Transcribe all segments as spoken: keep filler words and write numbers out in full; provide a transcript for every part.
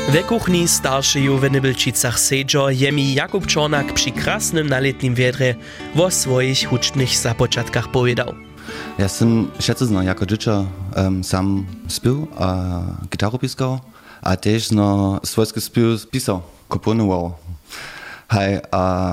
We kuchni staršeju w Nybelčicach sedžo je mi Jakub Čornak při krasnym naletnim wiedrze o swoich hučnych započatkach powiedział. Ja sam šetce jako dziecko um, sam spił a gitaru piskał, a też no swojski spił pisał, komponował. Hej, a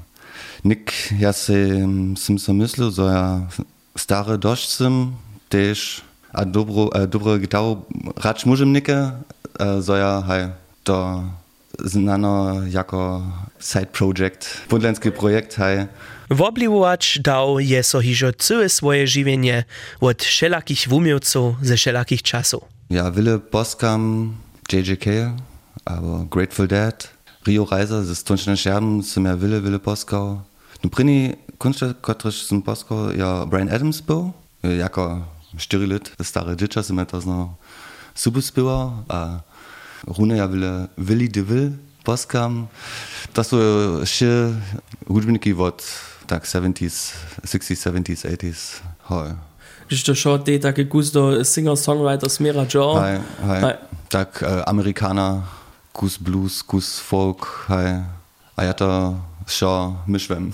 nik ja sam sam so myślał, że ja stary dość sam też a dobro, a dobro gitaru racz mużem nikę, że ja hej, to znano jako side project, podlenski projekt, hej. Wobliwować dał je so hižo całe swoje żywienie od wszelakich wumiowców ze wszelakich czasów. Ja wiele poskam J J K, aber Grateful Dead, Rio Reiser, ze Stunčne Scherben sam ja wiele, wiele poskał. No pryni kunstler, kotryż sam poskał, ja Bryan Adams był, jako cztery lat, stare dziecko sam ja to zno super spiwał, a rune ja wiele Willy DeVille poskam. To są jeszcze hudźbniki od tak seventies, sixties, seventies, eighties. Hoj. Když to šlo, ty také kus do singer-songwriter směra, jo? Hej, hej. Tak uh, Amerikaner, kus blues, kus folk, hej. A ja to šlo myšvem.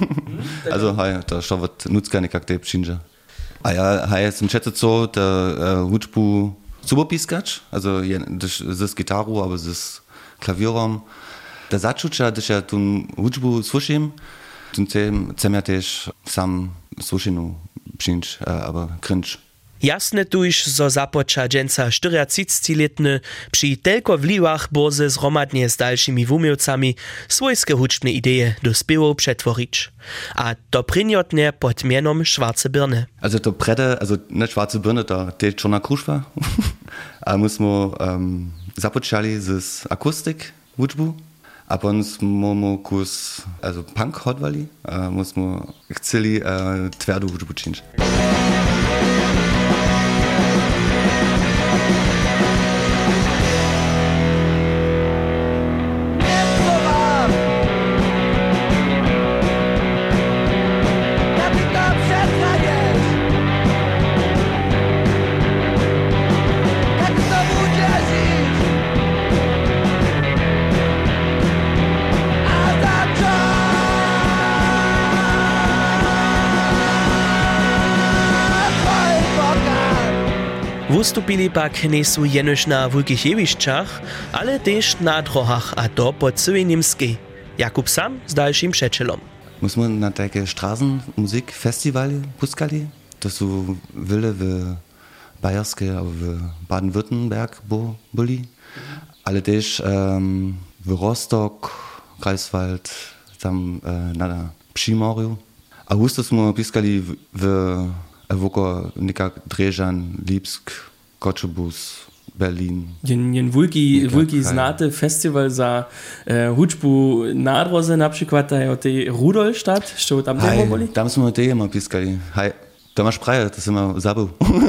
Also hej, to šlo od nutzkany, jak to je přinže. A ja, hej, jsem četl co, to uh, hudžbu super piskač, also z gitarou, aber z klavierom. Da začuča, když ja tu hudžbu sluším, tu chcem ja też sam slušinu přinč, aber cringe. Jasne tuž, zo započa dženca štyriadsiatletny při telko vliwach boze zhromadnie z dalszymi wumiowcami swojskie hučne ideje do spiewow przetworić. A to prinjotnie pod mienom Schwarze Birne. Also to prede, also ne Schwarze Birne, to te Czarna Kruszwa. A myśmy um, započali z akustik hudžbu. A potem smo kus, also Punk hodvali, a myśmy chcieli uh, twardu hudžbu činč. Wystupili pak niesu jenož na wulkich jewišćach, ale też na drohach, a to po całej Niemskiej. Jakub sam z dalszym przeczelom. Myśmy na takie Straßenmusikfestivali puskali. To są wiele w Bayerskie, albo w Baden-Württemberg byli, ale też um, w Rostock, Greifswald, tam uh, na Przymorju. A wustosśmy piskali w, w woko nikak Drežan, Lipsk, Kočebus, Berlin. Jen, jen wulki, wulki znate festival za uh, hudžbu nadroze, na przykład o tej Rudolstadt, što tam temo boli? Tam smo te immer piskali. Hej, da masz praje, to sem immer zabil.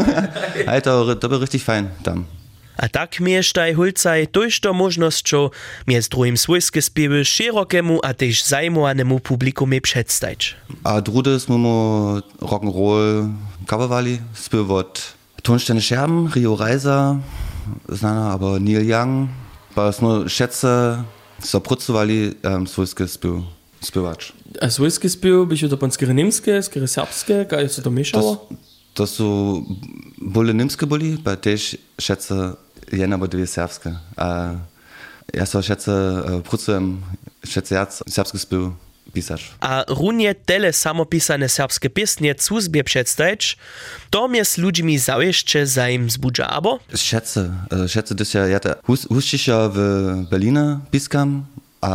Hej, to, to był richtig fein tam. A tak mieš taj hulcaj tojšto možnosťo miez druhým svojske spiewy širokemu a tež zajmovanemu publikumie předstajč. A drude smo mu rock'n'roll covervali, spiew od Stunčne Scherben, Rio Reiser, znana aber Neil Young, pa smo šetce so pracovali um, svojske spiew, spiewač. A svojske spiew, byś to pan skiery niemskie, skiery serbskie, kaj se to mieszało? To są bole niemskie boli, pa też šetce jedna bo dwie serbskie. A ja so šetce pracujem, šetce jac serbski spiew pisać. A runie tele samopisane serbskie piesnie cuzbie przedstawić, to mnie z ludźmi zajeżdżę za im zbudza, abo? Šetce, šetce, gdyż ja te huščiša w Berlina piskam,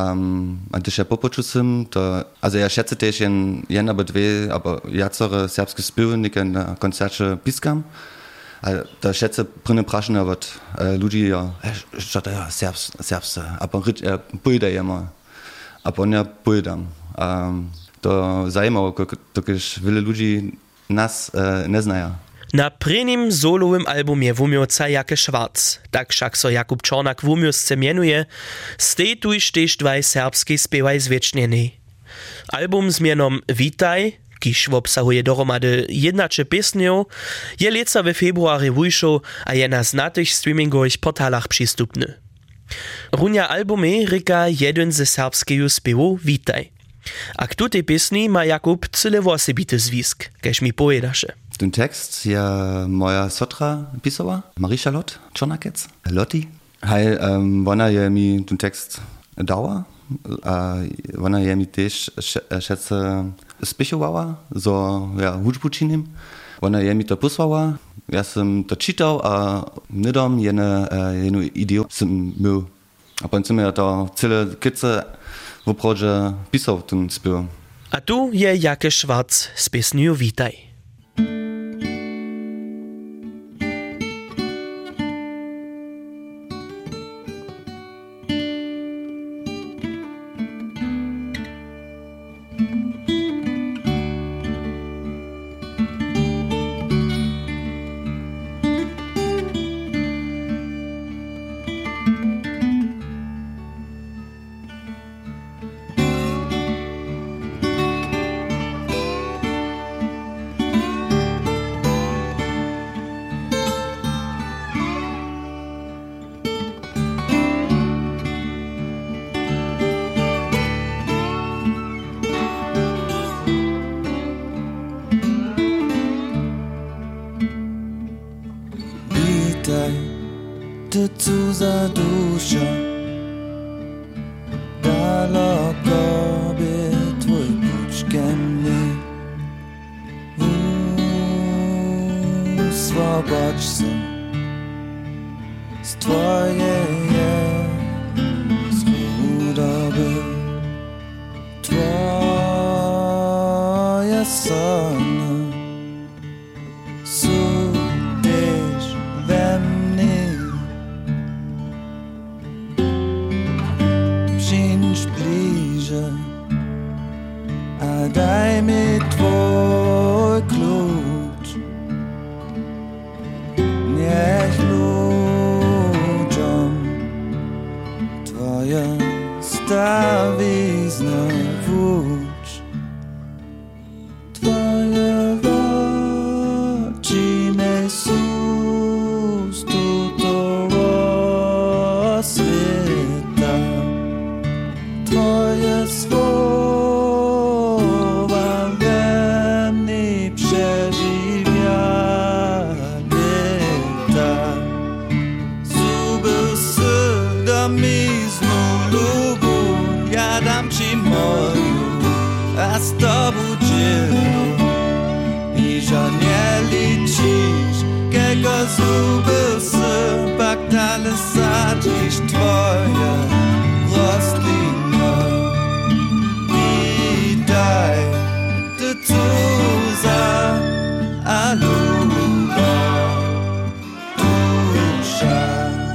um, a gdyż ja popoču sam, to, also ja šetce też jen, jen abo dwie, abo jacore serbskie spiewy, nike na koncercie piskam. A da šetce prine prašene od uh, ludzi, ja, što to je serbs, serbsce, a pa ja pojde jema, a pa ja pojdam. Um, to zajímaво, tokiž wiele ludzi nas uh, ne znaja. Na prvním solovým albumie wumiowca Jake Schwarz, tak však so Jakub Čornak wumiowsce mienuje, stej tuž tež dvaj serbskej spiewaj zwiecznieni. Album z mienom Witaj, kiž obsahuje dohromady jednače piesňov, je leca we februari wyšł a je na znatych streamingových portalach przystupny. Runja albumy rika jeden ze serbskeju spěwu Witaj. A k tutej pěsni ma Jakub cyle wosebity zwisk, kež mi pojedaše. Ten tekst je moja sotra pisała, Marie-Charlotte Czornakec, Lotti. Hej, um, ona je mi ten tekst dała, a ona je mi też šece spichowała, so ja hudžbu činim. Ona je mi to posłała, ja sam to czytał, a nidom jene, jenu ideju sam miał. A potem sam ja to cyle kice w oprodzie pisał ten spiew. A tu je Jake Schwarz z pěsniu Witaj. Ty cudza dusza, daleko by twój puczkiem mnie. Uswobodź się z twojej chudoby. Twoje sny są też we mnie. Przyjdź bliżej, a daj mi twój klucz. Niech ludziom twoje stawizny włócz. Twoje oczy me sus tutowo świata. Twoje słowa we mnie przeżywia lata. Zuby sy do miznu lubu, ja dam ci moju, a z tobą dzielę. I że nie liczysz, kiego zuby sy, pak dalej sadzisz twoje rośliny. Witaj, ty cudza, a luba dusza.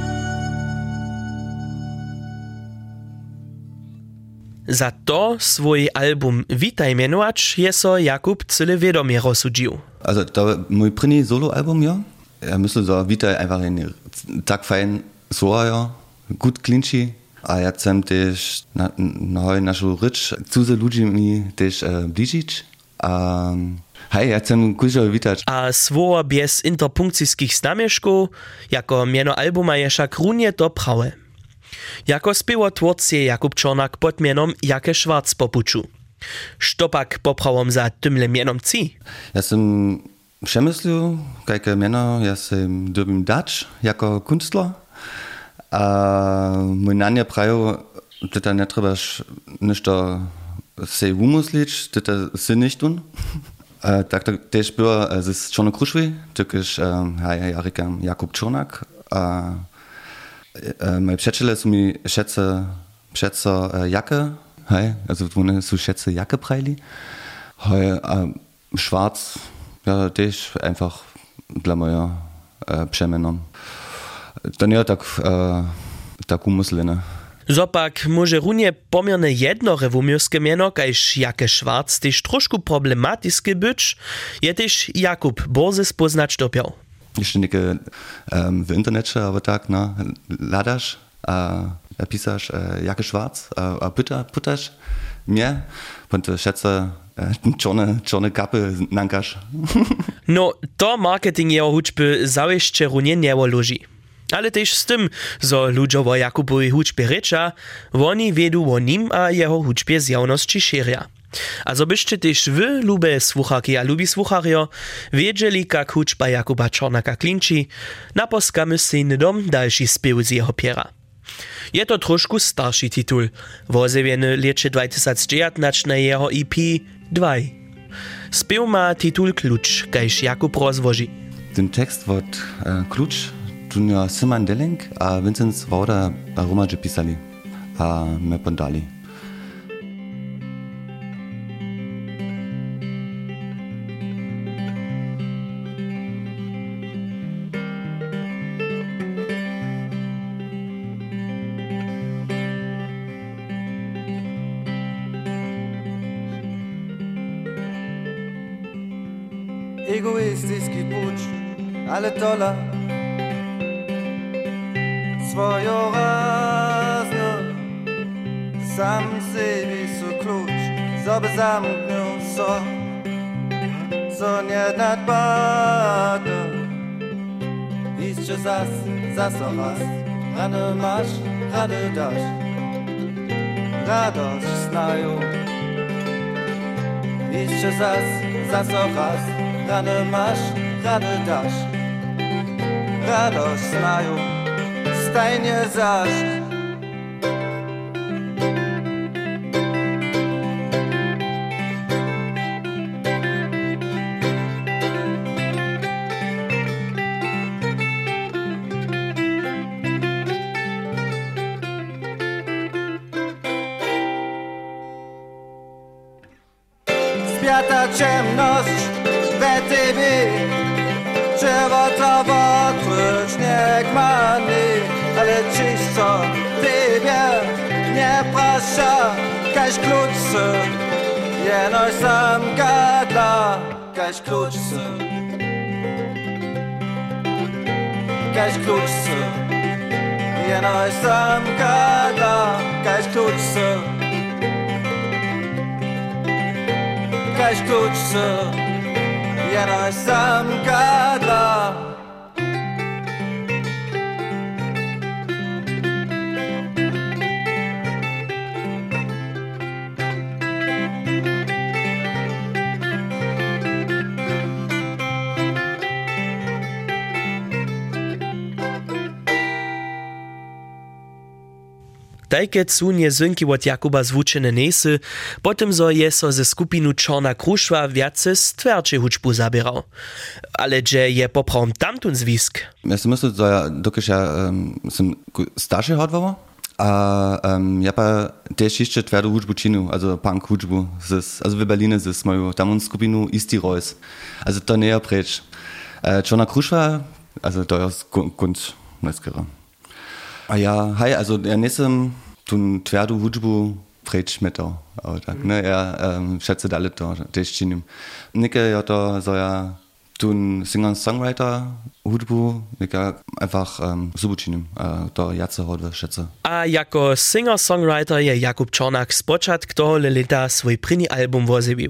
Za to swój album Witaj mianować je so Jakub cyle wiadomie rozsudził. Also, to mój první solo-album, ja. Ja myślę, że Witaj einfach ein tak fein słowa, ja. Gut klinči. A ja chcem też na, na naszą rycz cudze ludzi mi też e, bliżyć. A hej, ja chcem kuźo witać. A słowa bez interpunkcyjskich znamieszków, jako miano albuma je však runie to prawe. Jako spěwotwórcy Jakub Czornak pod mianom Jake Schwarz popuczu. Štopak poprawom za tymle mianom ci? Ja sam przemyślił, jakie miano ja sam dobim dać jako kunstler. A mój nanie prajo, że nie trzebaš ništo se umyslić, że to se nicht tun. Tak to też było z Czarnokruszwy, tykiż ja rykam Jakub Czornak. A moje przyjaciele są mi schätze, schätze Jacke, hej, also one są schätze Jacke prajli. Hej, a Schwarz, ja też einfach dla moja przemianą. To nie tak, e, tak umyslene. Zopak może runie pomierne jednore wumirskie miano, kajż Jake Schwarz też troszkę problematyczny być, je też Jakub Borze spoznać dopiał. Jeszcze nie um, w internecie, aber tak, no, ladasz, a, a pisasz e, Jake Schwarz, a, a pyta, pytasz mnie, bo to schätze czarne, czarne kapy nankasz. No, to marketing jeho hudźby zawieszcze runie nie loži. Ale też z tym, zo ludzie o Jakubovi hudźbie reča, oni wiedu o nim a jeho hudźbie z javnosti širja. A zo byście też wy, lube słucharki a lubi słucharjo, wiedzieli, jak hudźba Jakuba Czornaka klinči, naposkamy syny dom dalszy spiew z jeho piera. Je to trošku starszy titul, wozewieny lecie dwa tysiące dziewiętnaście na jeho E P dva. Spiew ma titul Klucz, kajż Jakub rozwoži. Ten tekst wot äh, Klucz tun ja Simon Delling a Vincent Wauda a Romadzie pisali, a me pondali. Egoistický púč, ale tola svojorázno sam sebi so kluč zobe zamknil so so nednadbadno išče zas, zaso raz rane maš, rane daš radość znają išče zas, zaso raz rane masz, rane dasz radość znają stajnie zaś Spiata ciemność we tobie czerwocowo tłucz niech mani, ale czyś co tobie nie prasza, kaś kluczce, jenoś sam gadla, kaś kluczce, kaś kluczce, jenoś sam gadla, kaś kluczce, kaś kluczce, jenoś sam gadla. Tajke cunie zynki od Jakuba zwučene nesy, potem zo je so ze skupinu Czorna Kruszwa wiace stwerdsze hudźbu zabierał. Ale dże je poprawom tamtun zwisk? Ja si myślę, że ja dokiż ja um, sam starszy hodwował, a um, ja pa też jeszcze twardą hudźbu czynił, also punk hudźbu, also w Berlinie z moją tamtun skupinu Isti Reus. Also to nie precz. Uh, Czorna Kruszwa, also to jest kunst, neskera. A ja, hej, also ja nisem tun twardu hudźbu precz metał, ale tak, ne, ja um, schätze dalej to, też czynił. Nike ja to, so ja tun Singer-Songwriter hudźbu, nika einfach um, super czynił, uh, to jace hodwe schätze. A jako Singer-Songwriter je Jakub Czornak spočatk tohole leta swój pryni album wozebił.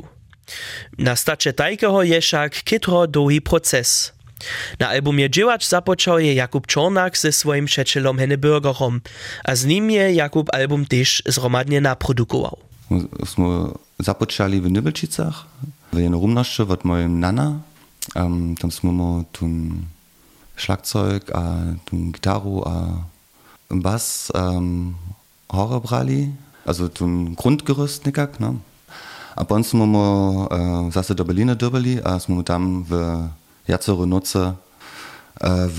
Na stacie tajkeho je však kytro długi proces. Na albumie dziełacz zapoczął je Jakub Czornak ze swoim przyjacielem Henne Bürgerom, a z nim je Jakub album też zromadnie naprodukował. Smo zapoczęli w Nybelčicach, w jednej rumności od mojej nana. Um, tam smo tun Schlagzeug, a tun Gitarre, a Bass, um, Horror brali, also tun Grundgerüst nikak, no. A potem smo uh, zase do Berlina dobili, a smo tam w jacere noce w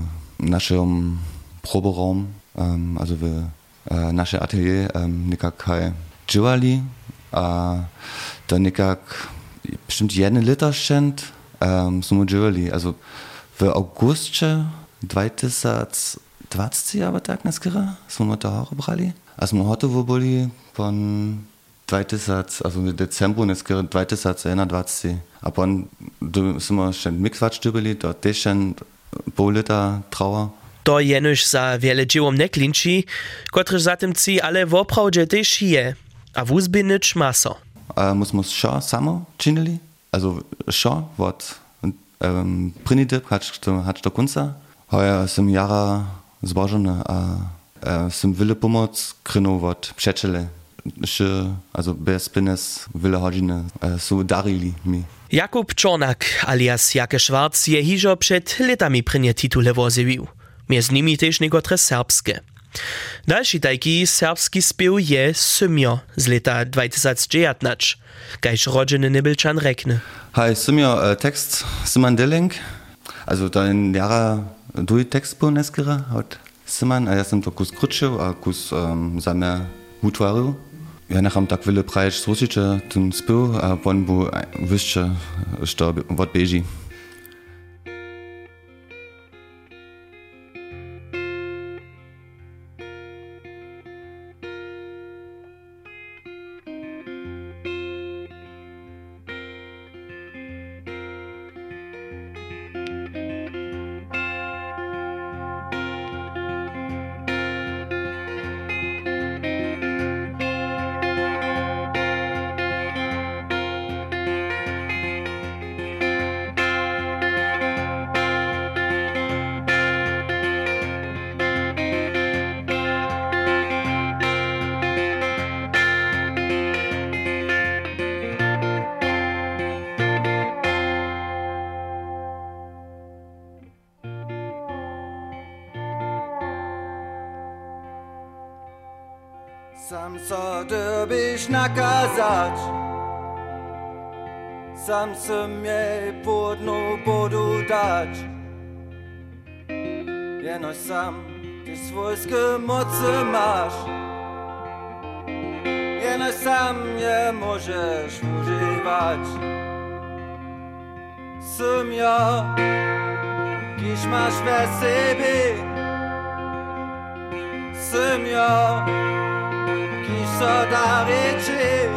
naszym Proberaum, um, also w uh, nasze atelier um, nikak haj dżywali, a to nikak bestimmt jeden Liter szent um, smo dżywali, also w augustie dwa tysiące dwadzieścia, aber tak neskera, smo to hore brali, a smo hotowo byli pon dwa tysiące, also w decembru neskera dwa tysiące einundzwanzig. A potem sind wir schon mitgequatscht byli, to też schon pół lita trała. To jenož za wiele dziełom nie klinči, kotrež zatem ci ale w oprawdzie też je, a w uzby nic maso. A musimy šo samo czynili, also šo, wot um, prynidyb, hacz do kunca, Heuer jsem jara zbožony a jsem wille pomoc krynu od přečele. Also bez peněz wille hodiny so darili mi. Jakub Czornak alias Jake Schwarz je hižo před letami prynje titule wozewił. Między nimi też niekotre serbskie. Dalszy taki serbski spiew je Symio z leta dwa tysiące dziewiętnaście, kajż rodziny Nibelczan rekne. Hej, Symio, tekst Simon Delling, also ten jara duj tekst był neskera od Simon, a ja sam to kus kruczył, a kus um, zamiar utwarzył. Ja nacham tak wiele prajeć zruczycie ten spiew, a on był wyższy, że od beži. Sam so dobiš nakazać, sam se mnie podnu bodu dać. Jeno sam ty swojskie mocy masz, jeno sam nie możesz używać. Sam ja, kiż masz we sobie, sam ja, kiż so daryczy.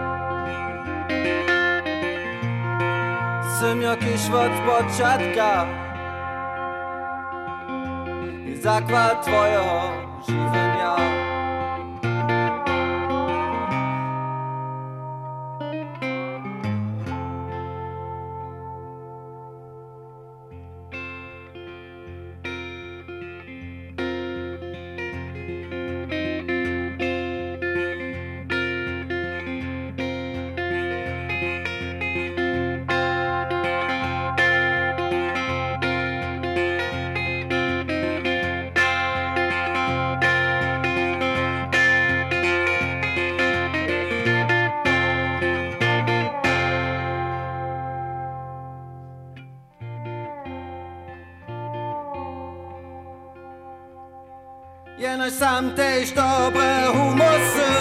Sam ja, kiż od początka i zakład twojego żywienia. Jeno sam też dobre humusy,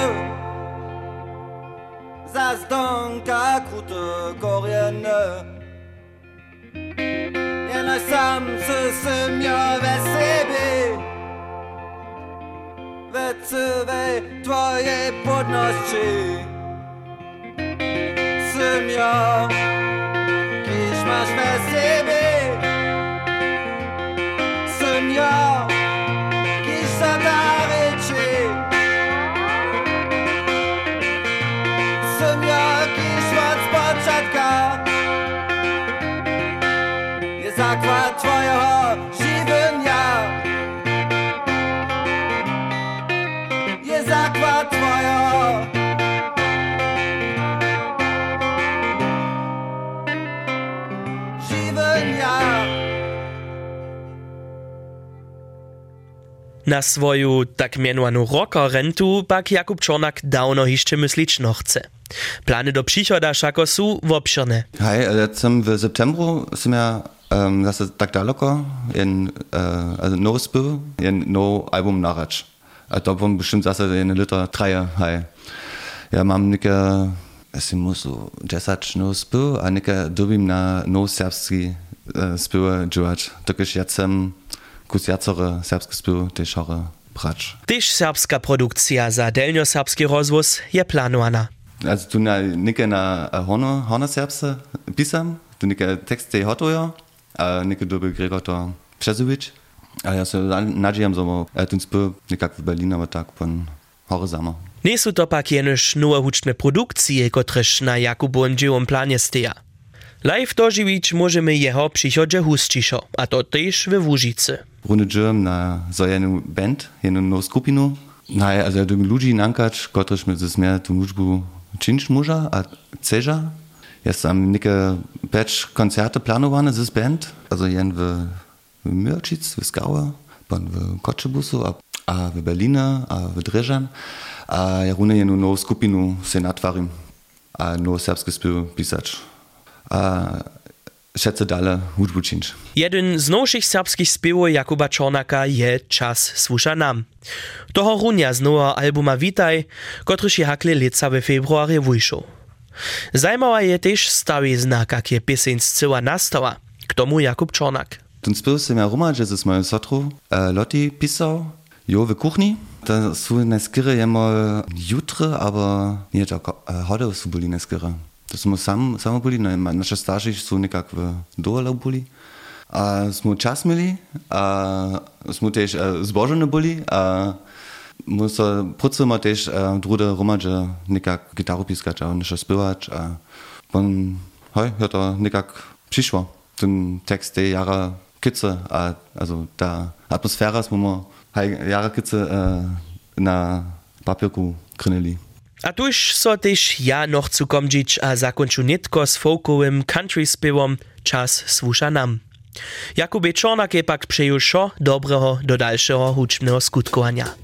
za zdonka kute koriene. Jeno sam se semja we sobie, we cywej twoje podności. Semja, kiż masz we sobie, semja, daryczy. Sam jakiś od początka jest zakład twojego żywienia. Jest zakład twojego żywienia. Na swoju tak mianowanu rockerrentu pak Jakub Czornak dawno jeszcze myśleć no chce. Plany do przychoda szako są obszerne. Hej, lecem w septembru są ja um, zase tak daleko, jen uh, no spiew, jen no album narać. A to bym bestimmt zase jen liter treje, hej. Ja mam nike, es musu desać no spiew, a nike dobim na no serbski uh, spiew działać. Tokiż ja sem kus jacere serbski spiew też chore brać. Też serbska produkcja za delnio-serbski rozwóz je planowana. Also tu na nike na horno, horno serbse pisam, tu nike teksty hotują, a nike doby Gregor to Przezovic. A ja se nadziejam, że ten spiew nikak w Berlin, aber tak pon hore samo. Nie są to pak jenoż nowe huczne produkcje, kotreż na Jakubowym dziełom planie steja. Live dożywić możemy jeho przychodzie husciszo, a to też we Łużycy. Runny dżem na so jedną band, jedną nową skupinu. No, also ja dym ludzi nankać, kotryż my zes mehr tu nużbu czynć może, a ceża. Jest tam nieke pecz koncerty planowane zes band, also jen w, w Mörczyc, w Skauer, pan w Kotschebusu, a, a w Berlina, a w Dreżan. A ja runny jedną nową skupinu se natwarim, a nowe serbskie spiewy pisać. A schätze dalej hudbu czynć. Jeden z nowszych serbskich spiewów Jakuba Czornaka je Czas słuša nam. Toho runia z nowego albuma Witaj, kotryż je hakle lica we februarie wyjszł. Zajmała je też stawy znak, jak je pieseň zcyła nastała. K tomu Jakub Czornak. Ten spiew sem ja roma, że z mojej sotru äh, Lotti pisał, jo w kuchni. To są najskiery jemo jutre, aber nie tak äh, heute są byli najskiery. To smo sam, samo boli, no, naše starši so nekako v dole boli. A smo čas imeli, a smo tež zbožene boli, a mo so procimo tež druge romadže nekako gitaru piskać, a nešto spiewać, a pon, hoj, je to nekako přišlo. Ten tekst te jara kice, a also ta atmosfera smo mo haj jara kice na papierku krynili. A tuż so też ja noch zu komdzić a zakończył nitko z folkowym country spiewom Czas słuša nam. Jakubie Czornak je pak przejął szo dobrego do dalszego hudźbnego skutkowania.